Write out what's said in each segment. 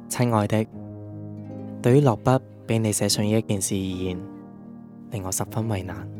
親愛的，對於落筆俾你寫上呢一件事而言，令我十分為難。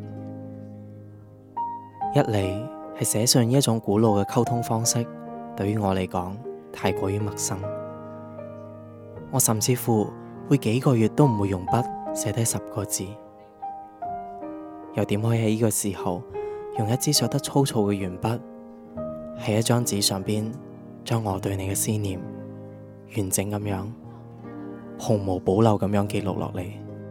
一嚟係寫上呢一種古老嘅溝通方式，對於我嚟講太過於陌生。我甚至乎會幾個月都唔會用筆寫低10個字，又點可以喺呢個時候用一支削得粗糙嘅鉛筆喺一張紙上邊將我對你嘅思念完整咁樣毫無保留咁樣記錄落嚟。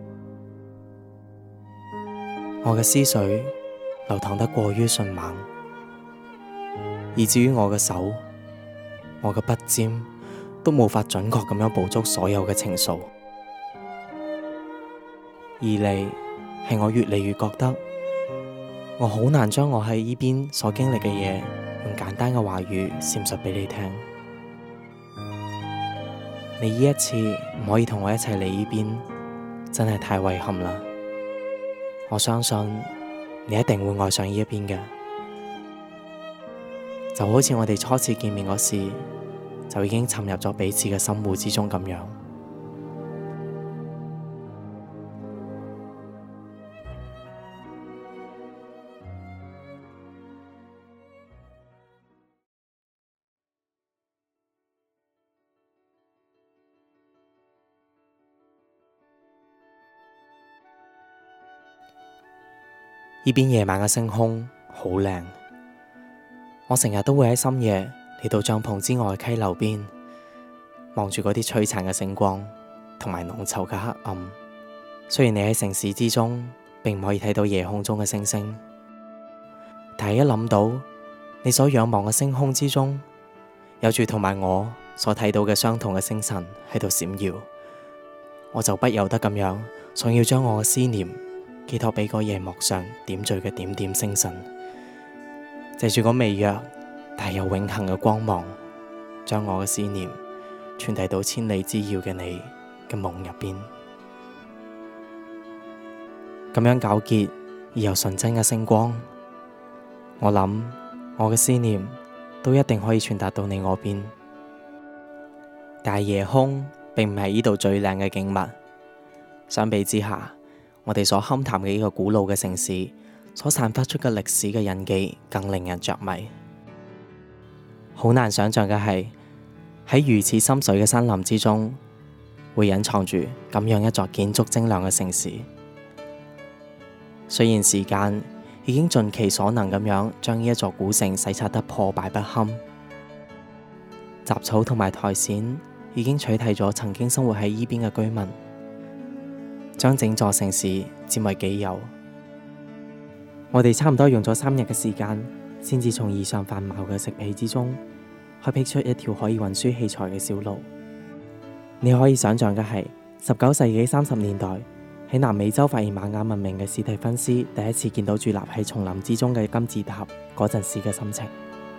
我嘅思緒流淌得過於迅猛，以至於我嘅手、我嘅筆尖都無法準確咁樣捕捉所有嘅情愫。二嚟係我越嚟越覺得我好難將我喺呢邊所經歷嘅嘢用簡單嘅話語闡述俾你聽。你呢一次唔可以同我一齊嚟呢邊，真係太遺憾啦。我相信你一定會愛上呢一邊嘅，就好似我哋初次見面嗰時就已經沉入咗彼此嘅心湖之中咁樣。呢邊夜晚嘅星空好靚，我成日都會喺深夜嚟到帳篷之外嘅溪流邊，望住嗰啲璀璨嘅星光同埋濃稠嘅黑暗。雖然你喺城市之中並唔可以睇到夜空中嘅星星，但係一諗到你所仰望嘅星空之中有住同埋我所睇到嘅相同嘅星辰喺度閃耀，我就不由得咁樣想要將我嘅思念寄託俾個夜幕上點綴嘅點點星辰，借住個微弱但又永恆嘅光芒，將我嘅思念傳遞到千里之遙嘅你嘅夢入邊。咁樣皎潔而又純真嘅星光，我諗我嘅思念都一定可以傳達到你嗰邊。但係夜空並唔係呢度最靚嘅景物，相比之下，我哋所勘探嘅呢個古老嘅城市所散發出嘅歷史嘅印記更令人着迷。好難想象嘅係喺如此深邃嘅山林之中，會隱藏住咁樣一座建築精良嘅城市。雖然時間已經盡其所能咁樣將呢一座古城洗刷得破敗不堪，雜草同埋苔蘚已經取替咗曾經生活喺呢邊嘅居民，將整座城市佔為己有。我哋差唔多用咗3日嘅時間，先至從異常繁茂嘅植被之中開闢出一條可以運輸器材嘅小路。你可以想象嘅係19世紀30年代喺南美洲發現瑪雅文明嘅史蒂芬斯第一次見到佇立喺叢林之中嘅金字塔嗰陣時嘅心情。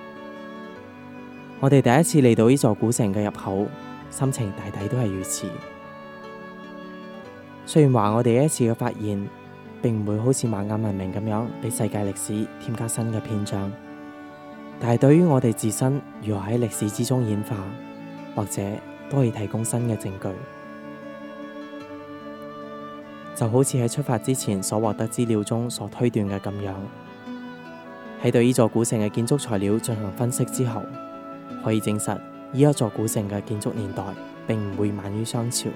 我哋第一次嚟到呢座古城嘅入口，心情大抵都係如此。雖然話我哋呢一次嘅發現並唔會好似瑪雅文明咁樣俾世界歷史添加新嘅篇章，但係對於我哋自身如何喺歷史之中演化，或者都可以提供新嘅證據。就好似喺出發之前所獲得資料中所推斷嘅咁樣，喺對呢座古城嘅建築材料進行分析之後，可以證實呢一座古城嘅建築年代並唔會晚於商朝。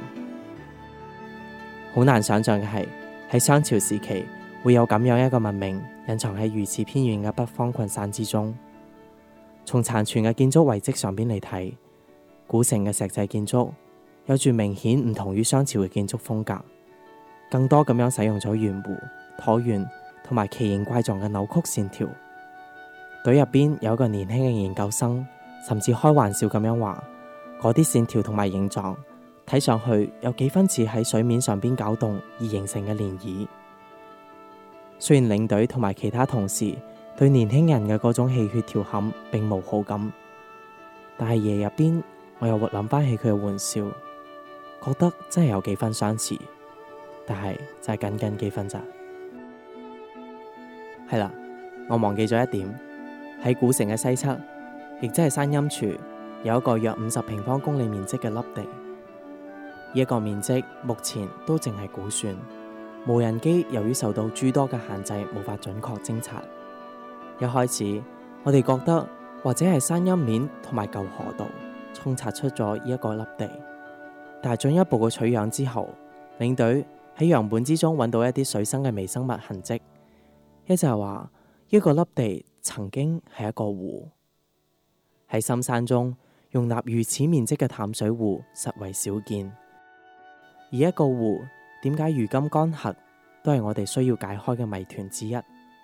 好難想象嘅係喺商朝時期會有咁樣一個文明隱藏喺如此偏遠嘅北方群山之中。從殘存嘅建築遺跡上邊嚟睇，古城嘅石製建築有住明顯唔同於商朝嘅建築風格，更多咁樣使用咗圓弧、橢圓同埋奇形怪狀嘅扭曲線條。隊入邊有一個年輕嘅研究生，甚至開玩笑咁樣話，嗰啲線條同埋形狀睇上去有幾分似喺水面上邊攪動而形成嘅漣漪。雖然領隊同埋其他同事對年輕人嘅嗰種戲謔調侃並無好感，但係夜入邊我又會諗翻起佢嘅玩笑，覺得真係有幾分相似，但係就係僅僅幾分咋。係啦，我忘記咗一點，喺古城嘅西側，亦即係山陰處，有一個約50平方公里面積嘅凹地， 呢個面積目前都淨係估算，無人機由於受到諸多嘅限制，無法準確偵察。一開始我哋覺得或者係山陰面同埋舊河道沖刷出咗呢一個粒地，但係進一步嘅取樣之後，領隊喺樣本之中揾到一啲水生嘅微生物痕跡，一就係話呢個粒地曾經係一個湖。喺深山中容納如此面積嘅淡水湖實為少見，而一個湖點解如今乾涸，都係我哋需要解開嘅謎團之一。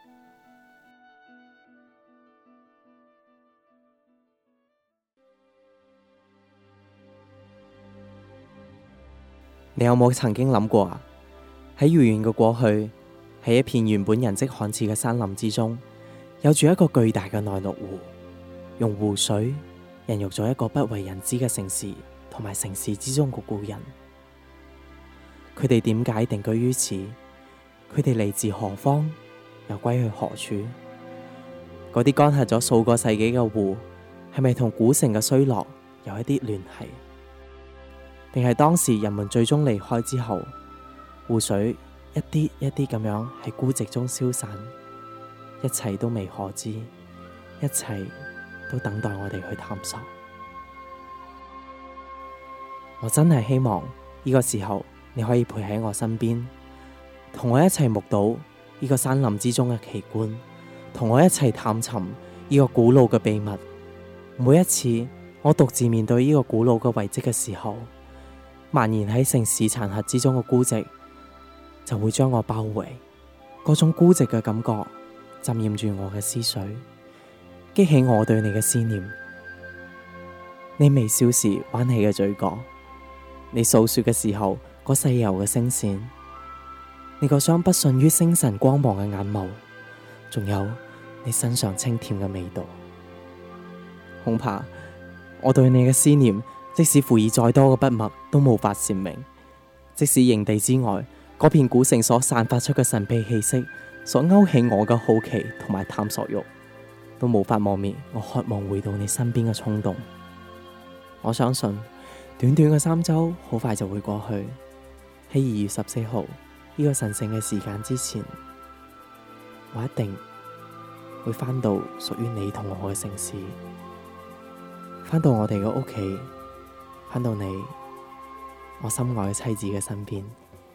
你有冇曾經諗過啊？喺遙遠嘅過去，喺一片原本人跡罕至嘅山林之中，有住一個巨大嘅內陸湖，用湖水孕育咗一個不為人知嘅城市，同埋城市之中嘅故人。佢哋點解定居於此？佢哋嚟自何方？又歸去何處？嗰啲乾涸咗數個世紀嘅湖，係咪同古城嘅衰落有一啲聯繫？定係當時人們最終離開之後，湖水一啲一啲咁樣喺孤寂中消散，一切都未可知，一切都等待我哋去探索。我真係希望呢個時候你可以陪喺我身邊，同我一齊目睹呢個山林之中嘅奇觀，同我一齊探尋呢個古老嘅秘密。每一次我獨自面對呢個古老嘅遺跡嘅時候，蔓延喺城市殘骸之中嘅孤寂就會將我包圍，嗰種孤寂嘅感覺浸染住我嘅思緒，激起我對你嘅思念。你微笑時彎起嘅嘴角，你訴說嘅時候嗰細柔嘅聲線，你嗰雙不遜於星辰光芒嘅眼眸，仲有你身上清甜嘅味道。恐怕我對你嘅思念，即使輔以再多嘅筆墨都無法闡明。即使營地之外嗰片古城所散發出嘅神秘氣息，所勾起我嘅好奇同埋探索欲，都無法磨滅我渴望回到你身邊嘅衝動。我相信短短嘅3周好快就會過去。喺2月14號呢個神聖嘅時間之前，我一定會返到屬於你同我嘅城市，返到我哋嘅屋企，返到你我心愛嘅妻子嘅身邊。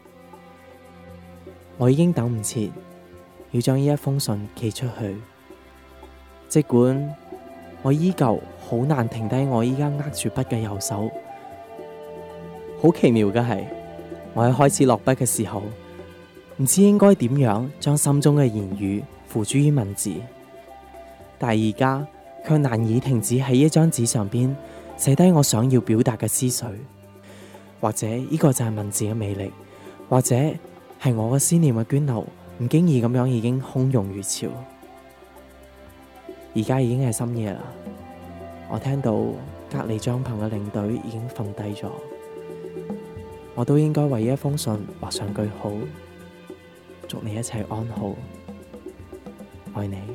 我已經等唔切要將呢一封信寄出去，儘管我依舊好難停低我依家握住筆嘅右手。好奇妙嘅係，我喺開始落筆嘅時候，唔知應該點樣將心中嘅言語付諸於文字，但係而家卻難以停止喺一張紙上邊寫低我想要表達嘅思緒。或者呢個就係文字嘅魅力，或者係我嘅思念嘅涓流唔經意咁樣已經洶湧如潮。而家已經係深夜啦，我聽到隔離帳篷嘅領隊已經瞓低咗，我都應該為一封信畫上句號，祝你一切安好，愛你。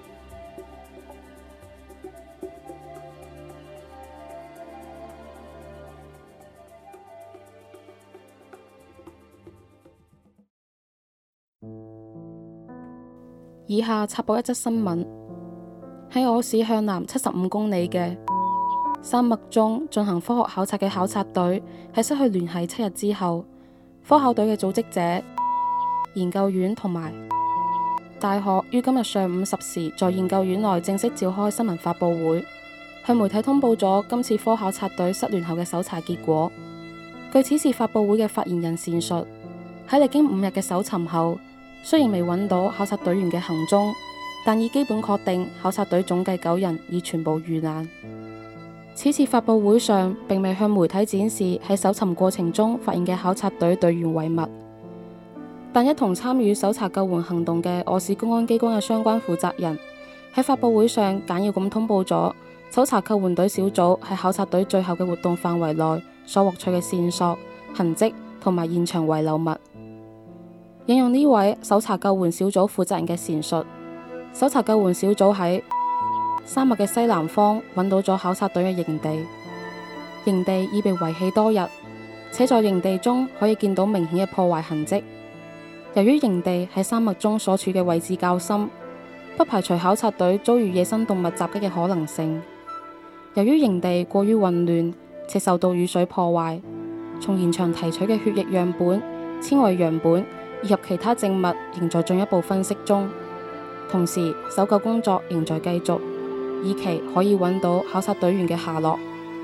以下插播一則新聞：喺我市向南75公里嘅山脈中進行科學考察嘅考察隊喺失去聯繫7日之後，科考隊嘅組織者、研究院同埋大學於今日上午10時在研究院內正式召開新聞發佈會，向媒體通報咗今次科考察隊失聯後嘅搜查結果。據此次發佈會嘅發言人闡述，喺歷經5日嘅搜尋後，雖然未揾到考察隊員嘅行蹤，但已基本確定考察隊總計9人已全部遇難。此次發佈會上並未向媒體展示喺搜尋過程中發現嘅考察隊隊員遺物，但一同參與搜查救援行動嘅我市公安機關嘅相關負責人喺發佈會上簡要咁通報咗搜查救援隊小組喺考察隊最後嘅活動範圍內所獲取嘅線索、痕跡同埋現場遺留物。引用呢位搜查救援小組負責人嘅闡述，搜查救援小組喺山脈嘅西南方揾到咗考察隊嘅營地，營地已被遺棄多日， 且在營地中可以見到明顯嘅破壞痕跡。由於營地喺山脈中所處嘅位置較深，不排除考察隊遭遇野生動物襲擊嘅可能性。由於營地過於混亂且受到雨水破壞，從現場提取嘅血液樣本、纖維樣本以及其他證物仍在進一步分析中。同時，搜救工作仍在繼續，以期可以揾到考察隊員嘅下落。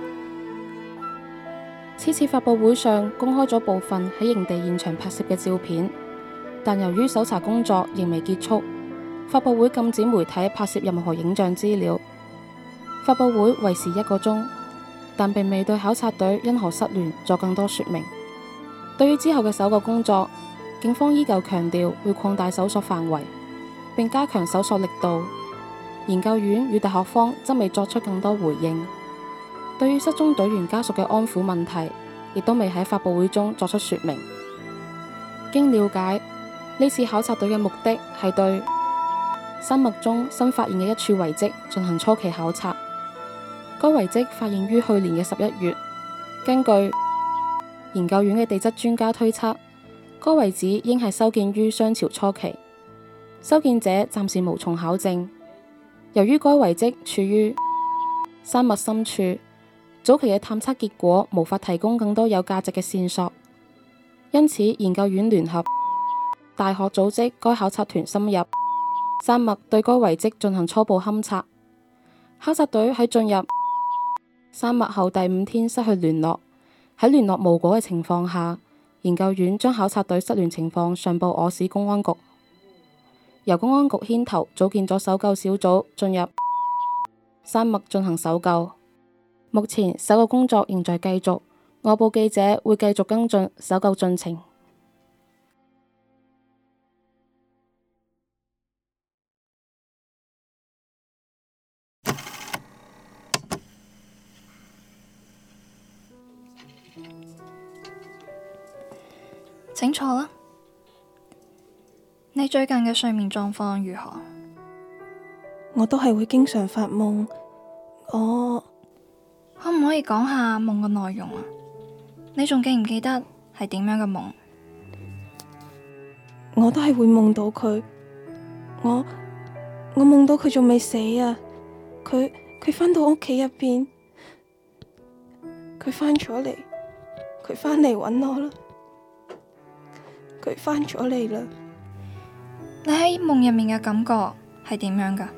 此次發佈會上公開咗部分喺營地現場拍攝嘅照片，但由於搜查工作仍未結束，發佈會禁止媒體拍攝任何影像資料。發佈會維持1個鐘，但並未對考察隊因何失聯作更多說明。對於之後嘅搜救工作，警方依舊強調會擴大搜索範圍，並加強搜索力度。研究院與大學方則未作出更多回應。對於失蹤隊員家屬嘅安撫問題，亦都未喺發佈會中作出說明。經了解，呢次考察隊嘅目的係對山脈中新發現嘅一處遺跡進行初期考察。該遺跡發現於去年嘅11月。根據研究院嘅地質專家推測，該遺址應係修建於商朝初期。修建者暫時無從考證。由於該遺跡處於山脈深處，早期嘅探測結果無法提供更多有價值嘅線索，因此研究院聯合大學組織該考察團深入山脈，對該遺跡進行初步勘測。考察隊喺進入山脈後第5天失去聯絡，喺聯絡無果嘅情況下，研究院將考察隊失聯情況上報我市公安局，由公安局牽頭組建咗搜救小組進入山脈進行搜救。目前搜救工作仍在繼續，我報記者會繼續跟進搜救進程。 請坐啦。你最近嘅睡眠狀況如何？ 我都係會經常發夢。我可唔可以講下夢嘅內容啊？你仲記唔記得係點樣嘅夢？ 我都係會夢到佢。我夢到佢仲未死啊！佢返到屋企入邊，佢返咗嚟，佢返嚟搵我啦。佢返咗嚟啦。 你喺夢入面嘅感覺係點樣噶？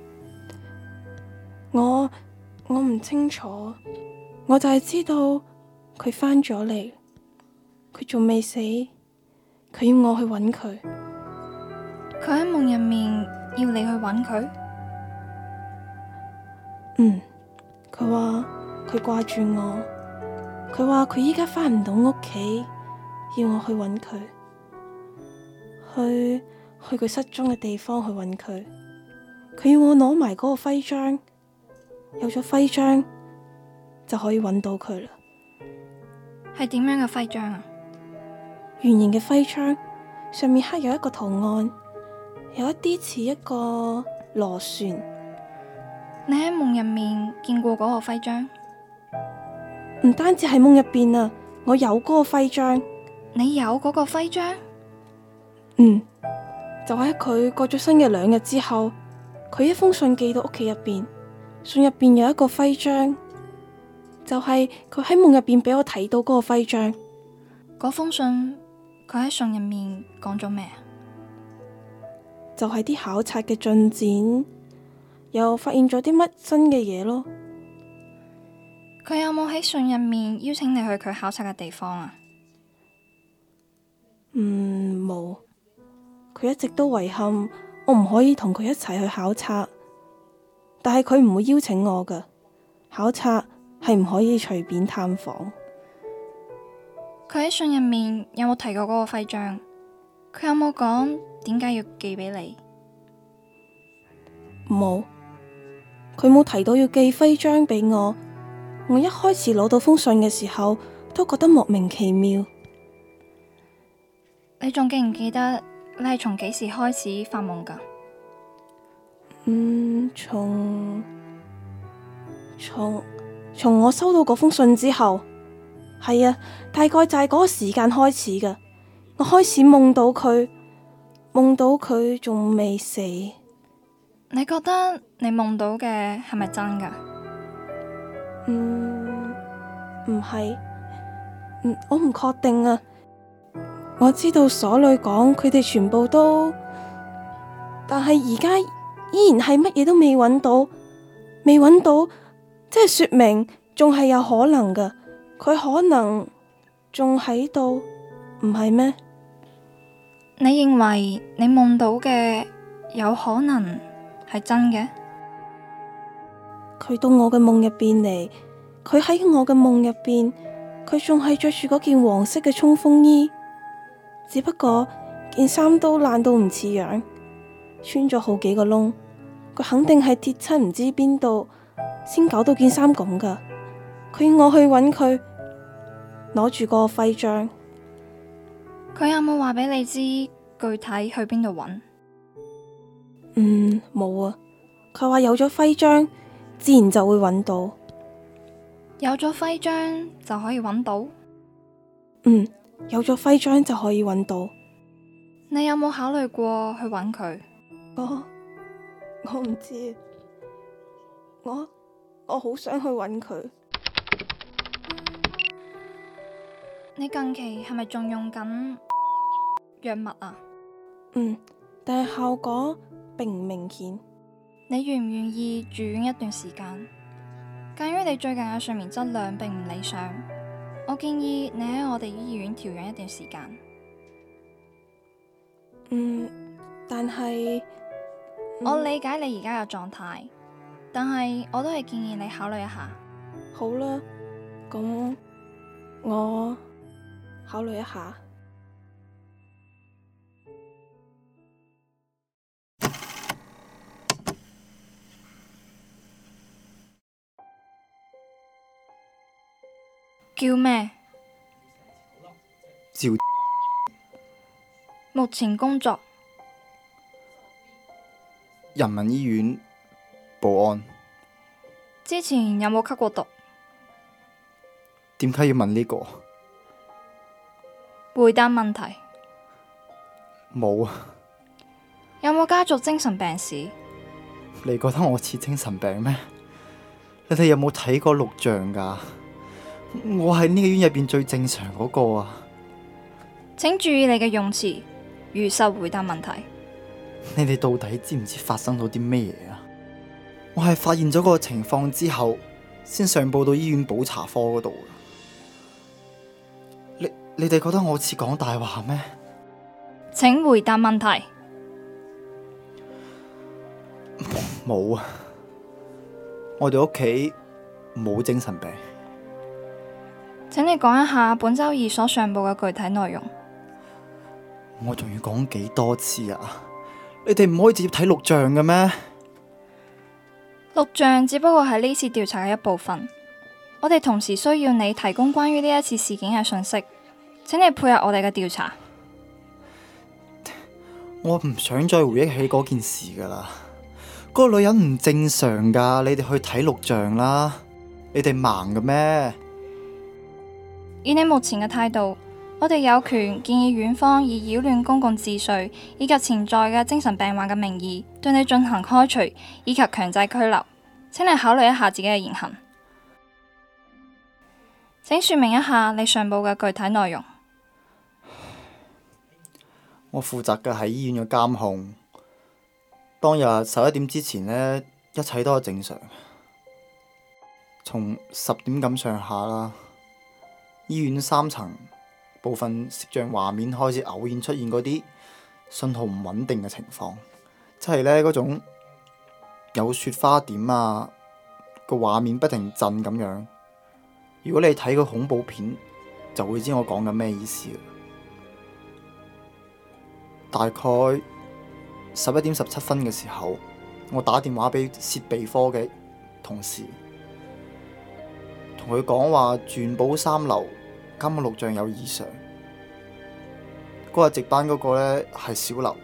我唔清楚，我就係知道佢返咗嚟，佢仲未死，佢要我去搵佢。 佢喺夢入面要你去搵佢？ 佢話佢掛住我，佢話佢依家返唔到屋企，要我去搵佢，去佢失蹤嘅地方去搵佢。佢要我攞埋嗰個徽章，有咗徽章就可以搵到佢啦。 係點樣嘅徽章啊？ 圓形嘅徽章，上面刻有一個圖案，有一啲似一個螺旋。 你喺夢入面見過嗰個徽章？ 唔單止係夢入邊啊，我有嗰個徽章。 你有嗰個徽章？ 就喺佢過咗身嘅2日之後，佢一封信寄到屋企入邊，信入邊有一個徽章，就係佢喺夢入邊俾我睇到嗰個徽章。 嗰封信佢喺信入面講咗咩啊？ 就係啲考察嘅進展，又發現咗啲乜新嘅嘢咯。 佢有冇喺信入面邀請你去佢考察嘅地方啊？ 冇。佢一直都遺憾我唔可以同佢一齊去考察，但係佢唔會邀請我㗎。考察係唔可以隨便探訪。 佢喺信入面有冇提過嗰個徽章？佢有冇講點解要寄俾你？ 冇，佢冇提到要寄徽章俾我。我一開始攞到封信嘅時候，都覺得莫名其妙。 你仲記唔記得你係從幾時開始發夢㗎？ 從我收到嗰封信之後。 係啊，大概就係嗰個時間開始㗎。我開始夢到佢仲未死。 你覺得你夢到嘅係咪真㗎？ 唔係，我唔確定啊。我知道所裏講佢哋全部都，但係而家依然係乜嘢都未揾到，即係說明仲係有可能㗎。佢可能仲喺度，唔係咩？ 你認為你夢到嘅有可能係真嘅？ 佢到我嘅夢入邊嚟，佢喺我嘅夢入邊，佢仲係着住嗰件黃色嘅衝鋒衣，只不過件衫都爛到唔似樣，穿咗好幾個窿，佢肯定係跌親唔知邊度，先搞到件衫咁噶。佢要我去揾佢，攞住個徽章。 佢有冇話俾你知具體去邊度揾？ 冇啊。佢話有咗徽章，自然就會揾到。 有咗徽章就可以揾到？ 有咗徽章就可以揾到。 你有冇考慮過去揾佢？ 我唔知，我好想去揾佢。 你近期係咪仲用緊藥物啊？ 但係效果並唔明顯。 你願唔願意住院一段時間？鑒於你最近嘅睡眠質量並唔理想，我建議你喺我哋醫院調養一段時間。 但係我理解你而家嘅狀態，但係我都係建議你考慮一下。 好啦，咁我考慮一下。 叫咩？ 趙。 目前工作。 人民醫院保安。 之前有冇吸過毒？ 點解要問呢個？ 回答問題。 冇啊。 有冇家族精神病史？ 你覺得我似精神病咩？你哋有冇睇過錄像㗎？我係呢個院入邊最正常嗰個啊！ 請注意你嘅用詞，如實回答問題。 你哋到底知唔知發生咗啲咩嘢啊？我係發現咗個情況之後，先上報到醫院補查科嗰度。你哋覺得我似講大話咩？ 請回答問題。 冇啊！我哋屋企冇精神病。 請你講一下本周二所上報嘅具體內容。 我仲要講幾多次啊？你哋唔可以直接睇錄像嘅咩？ 錄像只不過係呢次調查嘅一部分，我哋同時需要你提供關於呢一次事件嘅信息，請你配合我哋嘅調查。 我唔想再回憶起嗰件事噶啦，嗰個女人唔正常噶，你哋去睇錄像啦，你哋盲嘅咩？ 以你目前嘅態度，我哋有權建議院方以擾亂公共秩序以及潛在嘅精神病患嘅名義，對你進行開除以及強制拘留。請你考慮一下自己嘅言行。請說明一下你上報嘅具體內容。 我負責嘅係醫院嘅監控。當日11點之前呢，一切都係正常。從10點咁上下啦，醫院3層部分攝像畫面開始偶然出現嗰啲信號唔穩定嘅情況，即係呢嗰種有雪花點啊，個畫面不停震咁樣。如果你睇個恐怖片，就會知我講緊咩意思。大概11點17分嘅時候，我打電話俾設備科嘅同事，同佢講話鑽寶3樓監控錄像有異常。嗰日值班嗰個呢係小劉，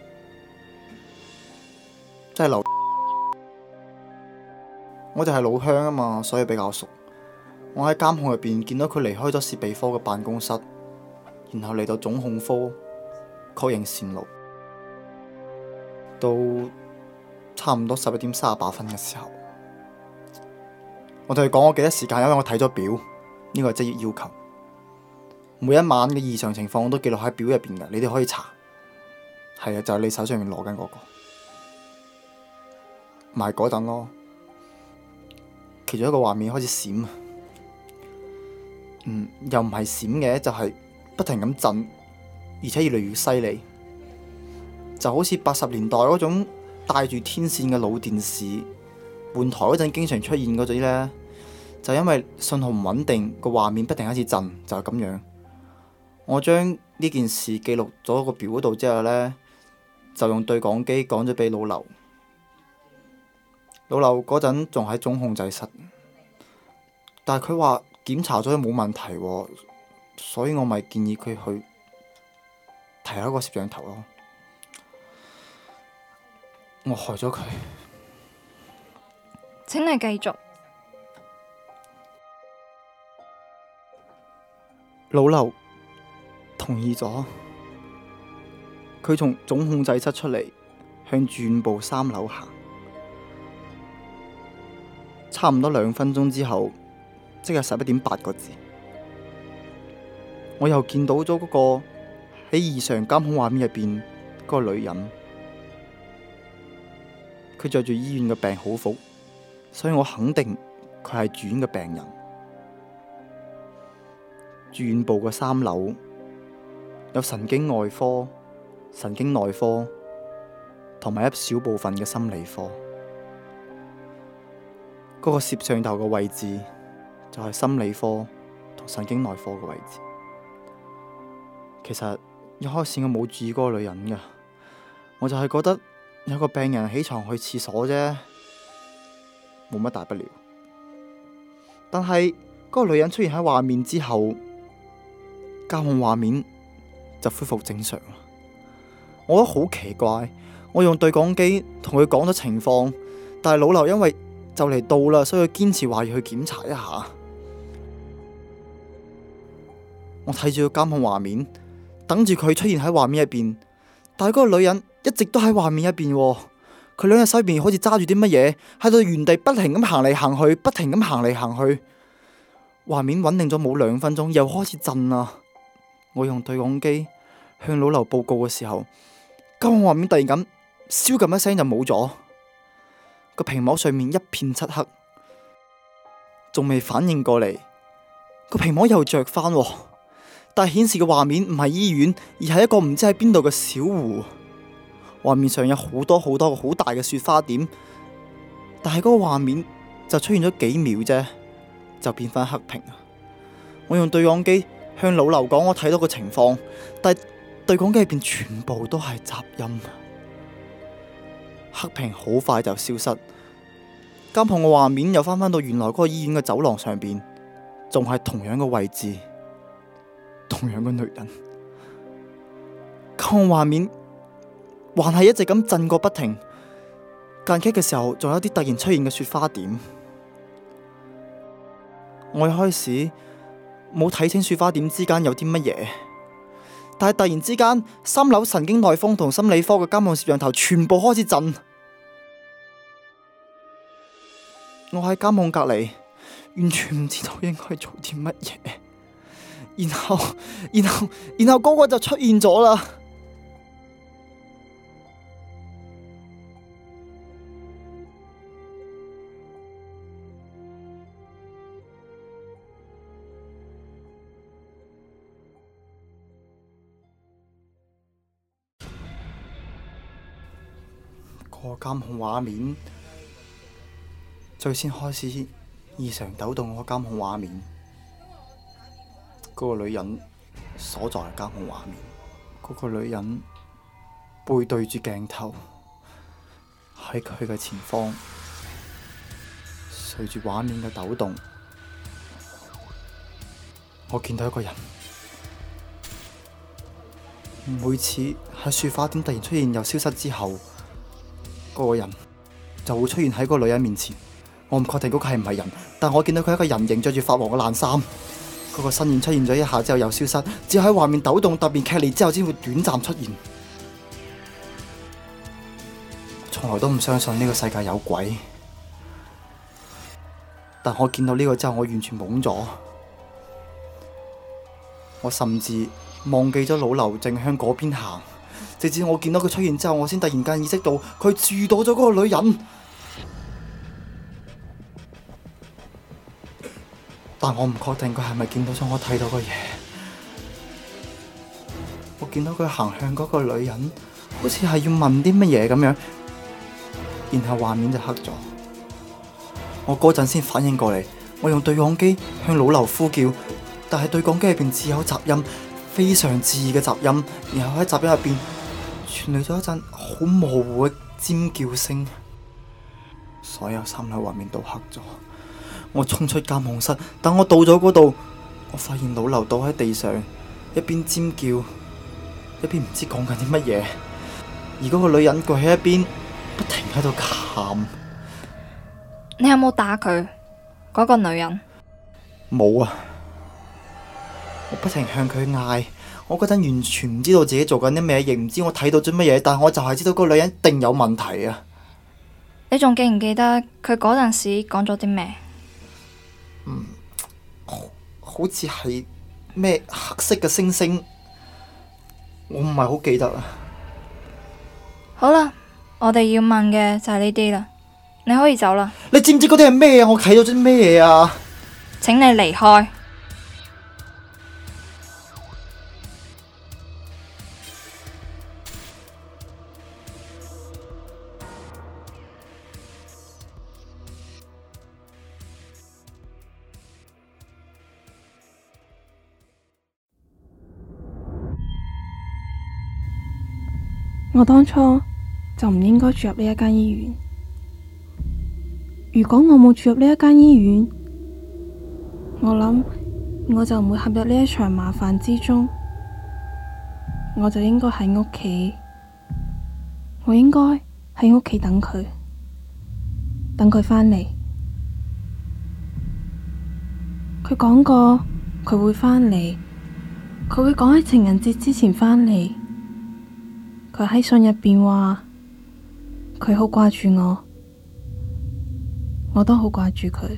即係劉。我哋係老鄉啊嘛，所以比較熟。 我喺監控入邊見到佢離開咗設備科嘅辦公室，然後嚟到總控科確認線路。到差唔多11點38分嘅時候，我同佢講我記得時間，因為我睇咗表，呢個係職業要求。每一晚嘅異常情況我都記錄喺表入邊嘅，你哋可以查。係啊，就係你手上面攞緊嗰個，咪嗰陣咯。其中一個畫面開始閃，又唔係閃嘅，就係不停咁震，而且越嚟越犀利，就好似80年代嗰種帶住天線嘅老電視換台嗰陣經常出現嗰種呢，就因為信號唔穩定，個畫面不停開始震，就係咁樣。我將呢件事記錄咗個表嗰度之後呢，就用對講機講咗俾老劉。老劉嗰陣仲喺總控制室，但係佢話檢查咗冇問題喎，所以我咪建議佢去提下個攝像頭咯。我害咗佢。 請你繼續。 老劉同意咗，佢從總控制室出嚟，向住院部3樓行。差唔多2分鐘之後，即係11點8個字，我又見到咗嗰個喺異常監控畫面入邊嗰個女人。佢着住醫院嘅病號服，所以我肯定佢係住院嘅病人。住院部嘅3樓有神經外科、神經內科同埋一小部分嘅心理科。嗰個攝像頭嘅位置就係心理科同神經內科嘅位置。其實一開始我冇注意嗰個女人㗎，我就係覺得有個病人起床去廁所啫，冇乜大不了。但係嗰個女人出現喺畫面之後，監控畫面就恢復正常啦。我覺得好奇怪，我用對講機同佢講咗情況，但係老劉因為就嚟到啦，所以佢堅持話要去檢查一下。我睇住個監控畫面，等住佢出現喺畫面入邊，但係嗰個女人一直都喺畫面入邊。佢兩隻手入邊好似揸住啲乜嘢，喺度原地不停咁行嚟行去，不停咁行嚟行去。畫面穩定咗冇2分鐘，又開始震啦。我用對講機向老劉報告嘅時候，監控畫面突然間燒咁一聲就冇咗。個屏幕上面一片漆黑，仲未反應過嚟，個屏幕又着翻，但係顯示嘅畫面唔係醫院，而係一個唔知喺邊度嘅小湖。畫面上有好多好多個好大嘅雪花點，但係嗰個畫面就出現咗幾秒啫，就變翻黑屏。我用對講機向老劉講我睇到個情況，但係對講機入邊全部都係雜音。黑屏好快就消失，監控嘅畫面又翻返到原來嗰個醫院嘅走廊上邊，仲係同樣嘅位置，同樣嘅女人。監控畫面還係一直咁震個不停，間隙嘅時候仲有啲突然出現嘅雪花點。我一開始冇睇清雪花點之間有啲乜嘢，但係突然之間3樓神經內科同心理科嘅監控攝像頭全部開始震。我喺監控隔籬，完全唔知道應該做啲乜嘢。然後嗰個就出現咗啦。個監控畫面最先開始異常抖動，個監控畫面，嗰個女人所在嘅監控畫面，嗰個女人背對住鏡頭，喺佢嘅前方，隨住畫面嘅抖動，我見到一個人。每次喺雪花點突然出現又消失之後，嗰個人就會出現喺嗰個女人面前， 我唔確定嗰個係唔係人，但我見到佢係一個人形，着住發黃嘅爛衫。嗰個身影出現咗一下之後又消失，只有喺畫面抖動特別劇烈之後先會短暫出現。我從來都唔相信呢個世界有鬼，但我見到呢個之後，我完全懵咗。我甚至忘記咗老劉正向嗰邊行，直至我見到佢出現之後，我先突然間意識到佢遇到咗嗰個女人。但我唔確定佢係咪見到咗我睇到嘅嘢。我見到佢行向嗰個女人，好似係要問啲乜嘢咁樣，然後畫面就黑咗。我嗰陣先反應過嚟，我用對講機向老劉呼叫，但係對講機入邊只有雜音，非常刺耳嘅雜音，然後喺雜音入邊傳嚟咗一陣好模糊嘅尖叫聲，所有3樓畫面都黑咗。我衝出監控室，等我到咗嗰度，我發現老劉倒喺地上，一邊尖叫，一邊唔知講緊啲乜嘢，而嗰個女人跪喺一邊，不停喺度喊。 你有冇打佢？嗰個女人？ 冇啊！我不停向佢嗌，我嗰陣完全唔知道自己做緊啲咩，亦唔知我睇到咗乜嘢，但我就係知道嗰個女人一定有問題啊！ 你仲記唔記得佢嗰陣時講咗啲咩？ 好似係咩黑色嘅星星，我唔係好記得啊。 好啦，我哋要問嘅就係呢啲啦，你可以走啦。 你知唔知嗰啲係咩啊？我睇到啲咩嘢啊？ 請你離開。 我當初就唔應該住入呢一間醫院。如果我冇住入呢一間醫院，我諗我就唔會陷入呢一場麻煩之中。我就應該喺屋企，我應該喺屋企等佢，等佢返嚟。佢講過佢會返嚟，佢會講喺情人節之前返嚟。佢喺信入邊話佢好掛住我，我都好掛住佢。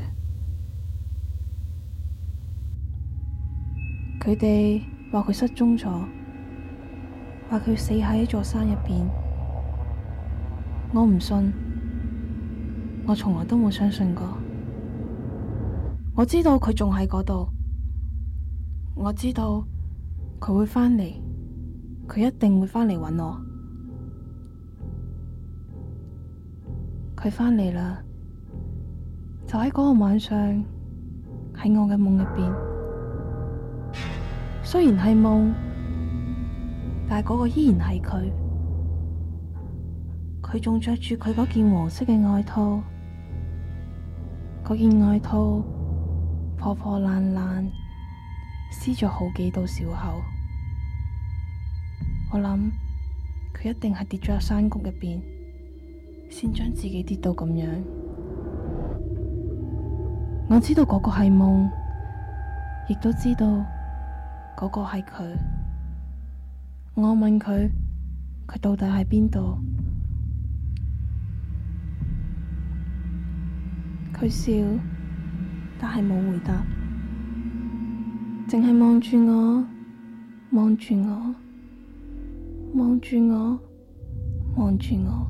佢哋話佢失蹤咗，話佢死喺一座山入邊。我唔信，我從來都冇相信過。我知道佢仲喺嗰度，我知道佢會返嚟，佢一定會返嚟搵我。佢返嚟啦，就喺嗰個晚上，喺我嘅夢入邊。雖然係夢，但係嗰個依然係佢。佢仲着住佢嗰件黃色嘅外套，嗰件外套破破爛爛，撕咗好幾道小口。我諗佢一定係跌咗入山谷入邊，先將自己跌到咁樣。我知道嗰個係夢，亦都知道嗰個係佢。我問佢，佢到底喺邊度？佢笑，但係冇回答，淨係望住我，望住我，望住我，望住我。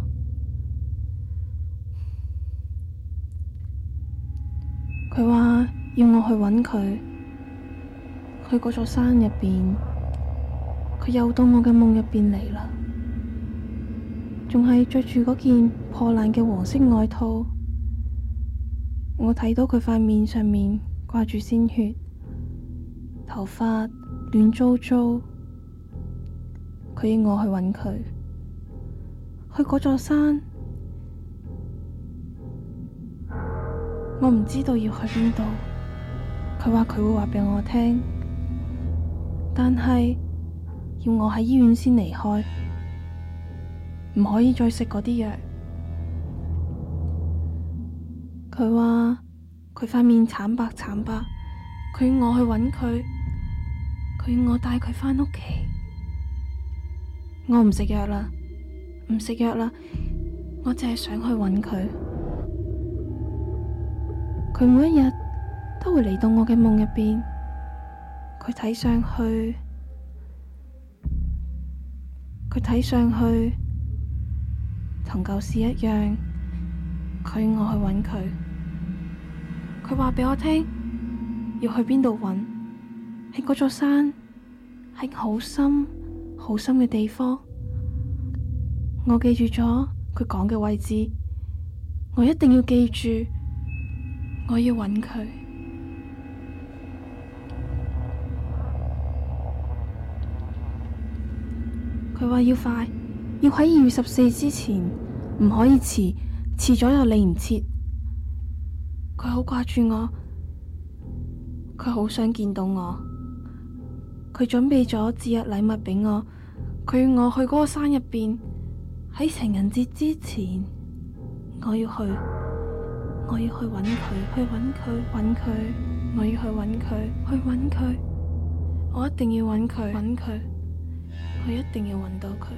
佢話要我去揾佢，去嗰座山入邊。佢又到我嘅夢入邊嚟啦，仲係着住嗰件破爛嘅黃色外套。我睇到佢塊面上面掛住鮮血，頭髮亂糟糟。佢要我去揾佢，去嗰座山。我唔知道要去邊度。佢話佢會話俾我聽，但係要我喺醫院先離開，唔可以再食嗰啲藥。 佢話佢塊面慘白慘白，佢要我去揾佢，佢要我帶佢返屋企。我唔食藥啦，唔食藥啦，我淨係想去揾佢。佢每一日都會嚟到我嘅夢入邊，佢睇上去同舊時一樣，佢要我去揾佢。佢話俾我聽要去邊度揾，喺嗰座山，喺好深好深嘅地方。我記住咗佢講嘅位置，我一定要記住，我要揾佢。佢話要快，要喺2月14之前，唔可以遲，遲咗又嚟唔切。佢好掛住我，佢好想見到我。佢準備咗節日禮物俾我，佢要我去嗰個山入邊，喺情人節之前，我要去揾佢，去揾佢，我要去揾佢，去揾佢，我一定要揾佢，我一定要揾到佢。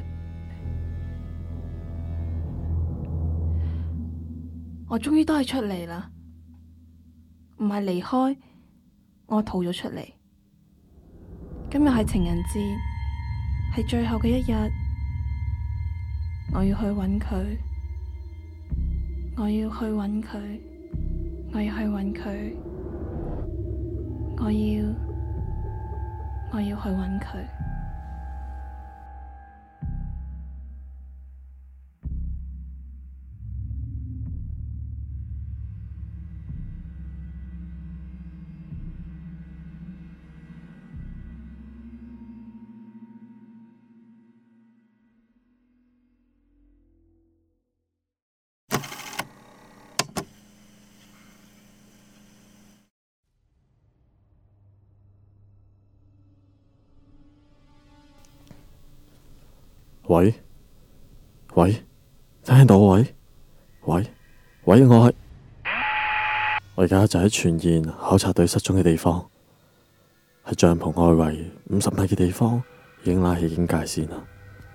我終於都係出嚟啦，唔係離開，我逃咗出嚟。今日係情人節，係最後嘅一日，我要去揾佢，我要去揾佢，我要去揾佢，我要去揾佢。 喂，聽到喂，我而家就喺全燕考察隊失蹤嘅地方，喺帳篷外圍50米嘅地方已經拉起警戒線啦。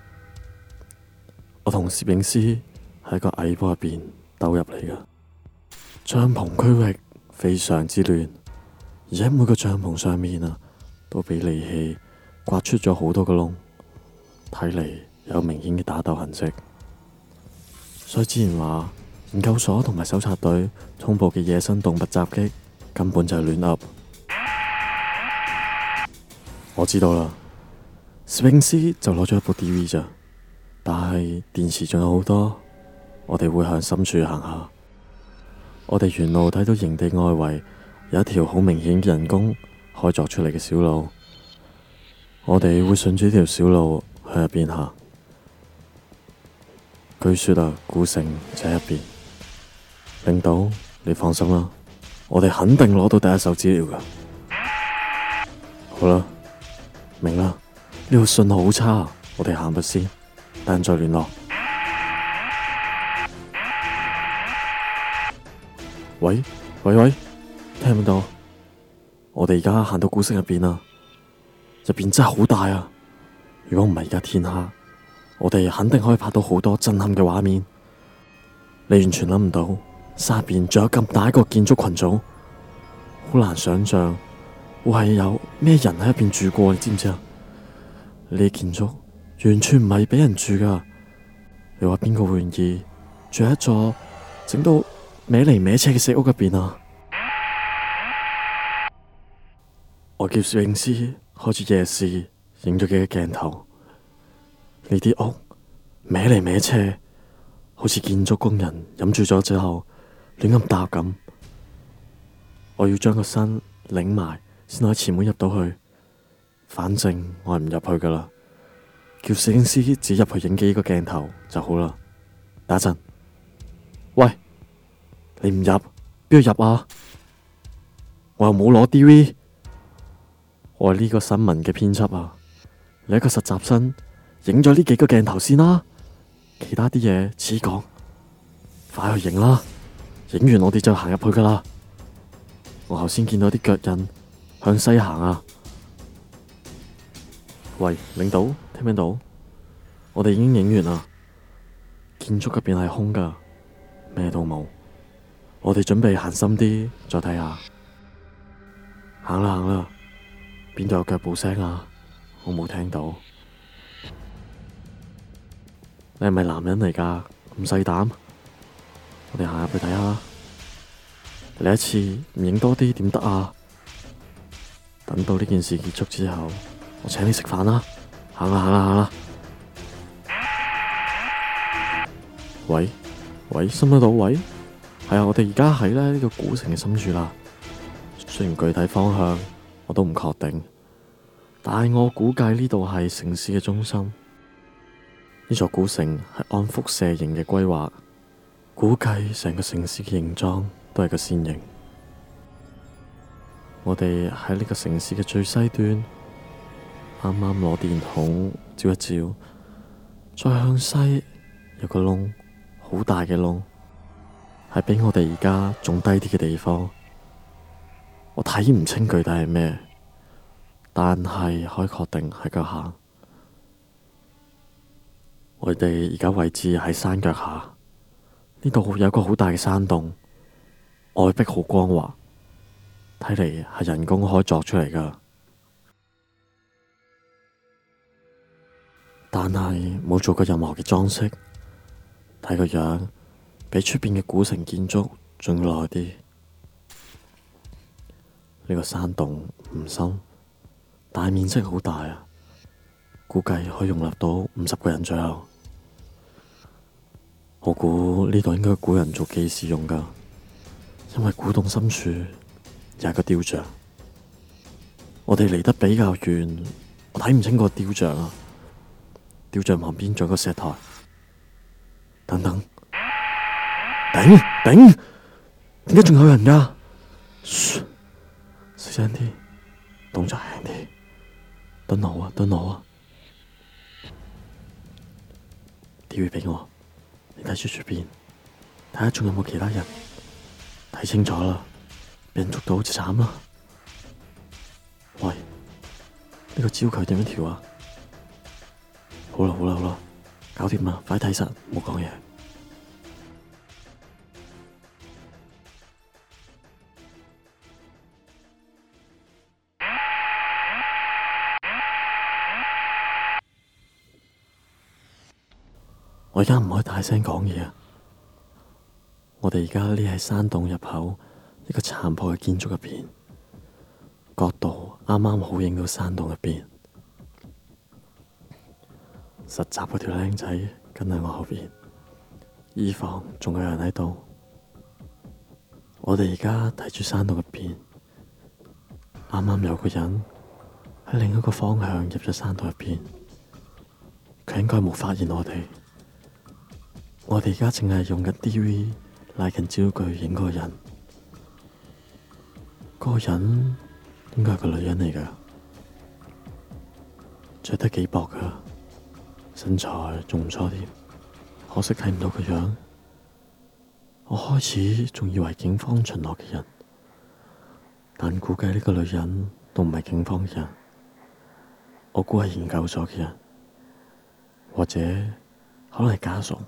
我同攝影師喺個矮坡入邊兜入嚟噶，帳篷區域非常之亂，而且每個帳篷上面都俾利器刮出咗好多個窿，睇嚟有明顯嘅打鬥痕跡，所以之前話研究所同埋搜查隊通報嘅野生動物襲擊根本就係亂噏。我知道啦，攝影師就攞咗一部 DV 咋，但係電池仲有好多，我哋會向深處行下。我哋沿路睇到營地外圍有一條好明顯嘅人工開鑿出嚟嘅小路，我哋會順住呢條小路向入邊行。據說古城就喺入邊。領導，你放心啦，我哋肯定攞到第一手資料噶。好啦，明啦，呢度信號好差，我哋行步先，等陣再聯絡。喂，聽唔到？我哋而家行到古城入邊啦，入邊真係好大啊！如果唔係而家天黑，我哋肯定可以拍到好多震撼嘅畫面。你完全諗唔到，山入邊仲有咁大一個建築群組，好難想象會係有咩人喺入邊住過，你知唔知啊？呢啲建築完全唔係俾人住噶，你話邊個會願意住喺一座整到歪嚟歪斜嘅石屋入邊啊？我叫攝影師開住夜視影咗幾個鏡頭，呢啲屋歪嚟歪斜，好似建築工人飲住咗之後亂咁搭咁。我要將個身擰埋先可以前門入到去，反正我係唔入去噶啦。叫攝影師只入去影幾個鏡頭就好啦。等一陣，喂，你唔入邊度入啊？我又冇攞 DV， 我係呢個新聞嘅編輯啊。你一個實習生，影咗呢幾個鏡頭先啦，其他啲嘢遲講，快去影啦， 影完我哋就行入去噶啦。我頭先見到啲腳印向西行啊。喂，領導，聽唔聽到？我哋已經影完啦，建築入邊係空噶，咩都冇。我哋準備行深啲，再睇下。行啦行啦，邊度有腳步聲啊？我冇聽到。你係咪男人嚟噶？咁細膽？我哋行入去睇下。嚟一次唔影多啲點得啊？等到呢件事結束之後，我請你食飯啦。行啦行啦行啦。喂喂，深得到？喂，係啊，我哋而家喺呢個古城嘅深處啦。雖然具體方向我都唔確定，但係我估計呢度係城市嘅中心。呢座古城係按輻射型嘅規劃，估計成個城市嘅形狀都係個線形。我哋喺呢個城市嘅最西端，啱啱攞電筒照一照，再向西有個窿，好大嘅窿，係比我哋而家仲低啲嘅地方。我睇唔清具體係咩，但係可以確定喺腳下。我哋而家位置喺山腳下，呢度有個好大嘅山洞，外壁好光滑，睇嚟係人工開鑿出嚟噶。但係冇做過任何嘅裝飾，睇個樣比出邊嘅古城建築仲要耐啲。呢個山洞唔深，但係面積好大啊，估計可以容納到50個人左右。我估呢度應該古人做記事用噶，因為古洞深處有一個雕像。我哋離得比較遠，我睇唔清個雕像啊。雕像旁邊仲有個石台。等等，頂，點解仲有人噶？噓，細聲啲，動作輕啲，蹲我啊！TV俾我，你睇住出邊，睇下仲有冇其他人。睇清楚啦，俾人捉到就慘啦。喂，呢個焦距點樣調啊？好啦，搞掂啦，快睇實，唔好講嘢。我而家唔可以大聲講嘢啊！我哋而家匿喺山洞入口一個殘破嘅建築入邊，角度啱啱好影到山洞入邊。實習嗰條靚仔跟喺我後邊，衣房仲有人喺度。我哋而家睇住山洞入邊，啱啱有個人喺另一個方向入咗山洞入邊，佢應該冇發現我哋。我哋而家淨係用緊 DV 拉近焦距影嗰個人，嗰個人應該係個女人嚟噶，着得幾薄噶。身材仲唔錯添，可惜睇唔到個樣。我開始仲以為警方巡邏嘅人，但估計呢個女人都唔係警方嘅人，我估係研究所嘅人，或者可能係家屬。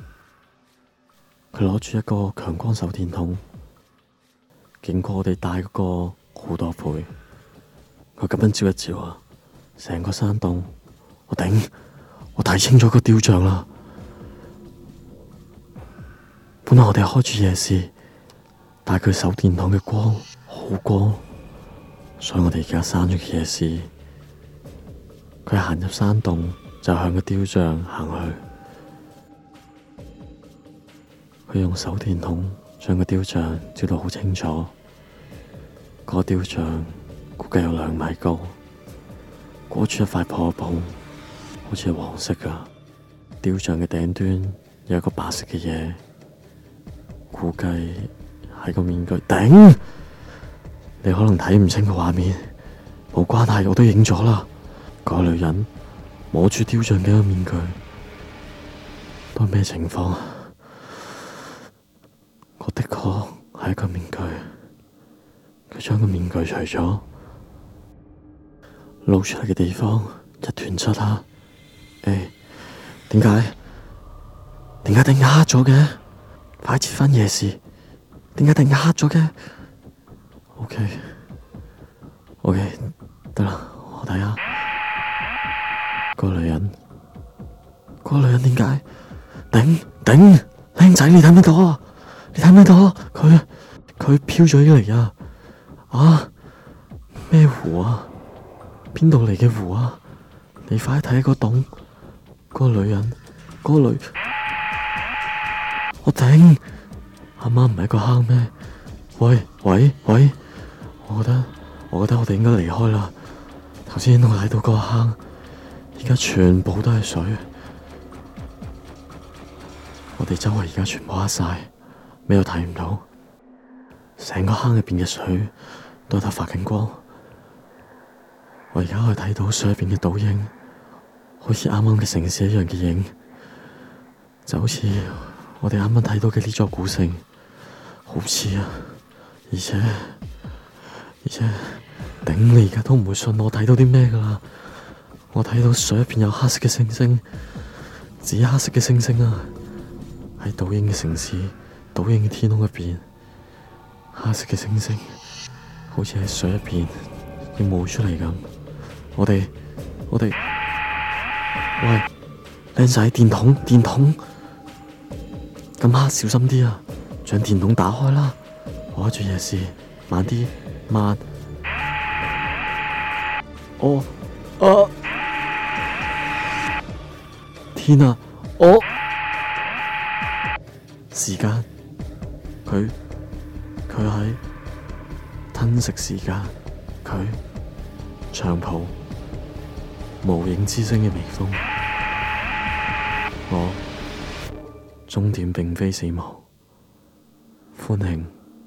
佢攞住一個強光手電筒，勁過我哋帶嗰個好多倍。佢咁樣照一照啊，成個山洞，我頂！我睇清楚個雕像啦。本來我哋開住夜視，但係佢手電筒嘅光好光，所以我哋而家閂咗個夜視。佢行入山洞就向個雕像行去。佢用手電筒將個雕像照到好清楚。個雕像估計有2米高，裹住一塊破布。好似係黃色噶，雕像嘅頂端有一個白色嘅嘢，估計係個面具。頂！你可能睇唔清個畫面，冇關係，我都影咗啦。個女人摸住雕像嘅一個面具，都係咩情況啊？個我的確係一個面具，佢將個面具除咗，露出嚟嘅地方一團漆黑。點解突然間黑咗嘅？快切返夜視，點解突然間黑咗嘅？OK，得啦，我睇下個女人點解？頂，靚仔，你睇唔睇到啊？你睇唔睇到啊？佢飄咗嚟啊！啊，咩湖啊？邊度嚟嘅湖啊？你快睇下個洞，個女人，我頂，啱啱唔係一個坑咩？喂，我覺得我哋應該離開啦。頭先我睇到個坑，而家全部都係水，我哋周圍而家全部黑晒，咩都睇唔到，成個坑入邊嘅水都喺度發緊光。我而家可以睇到水入邊嘅倒影，好似啱啱嘅城市一樣嘅影，就好似我哋啱啱睇到嘅呢座古城，好似啊！而且，頂，你而家都唔會信我睇到啲咩噶啦！我睇到水入邊有黑色嘅星星，紫黑色嘅星星啊！喺倒影嘅城市、倒影嘅天空入邊，黑色嘅星星好似喺水入邊要冒出嚟咁。我哋，喂，靚仔，電筒，咁黑，小心啲啊！將電筒打開啦，我開住夜視，慢啲，慢。天啊！時間，佢喺吞食時間，佢長袍，無影之聲嘅微風。我終點並非死亡，歡慶。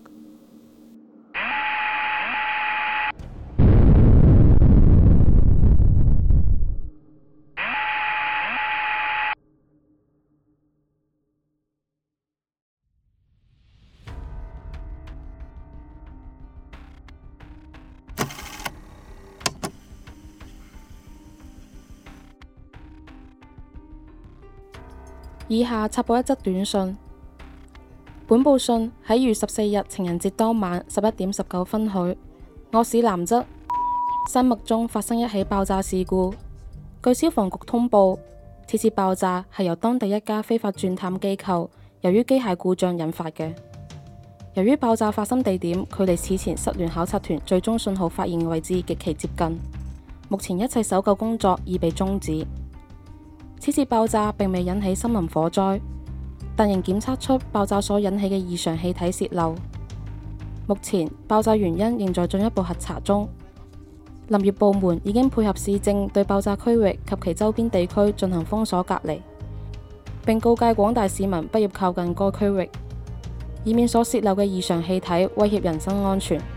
以下插播一則短信。本報信喺2月14日情人節當晚11點19分許，我市南側山脈中發生一起爆炸事故。據消防局通報，此次爆炸係由當地一家非法鑽探機構由於機械故障引發嘅。由於爆炸發生地點距離此前失聯考察團最終信號發現嘅位置極其接近，目前一切搜救工作已被終止。此次爆炸並未引起森林火災，但仍檢測出爆炸所引起嘅異常氣體洩漏。目前爆炸原因仍在進一步核查中。林業部門已經配合市政對爆炸區域及其周邊地區進行封鎖隔離，並告誡廣大市民不要靠近該區域，以免所洩漏嘅異常氣體威脅人身安全。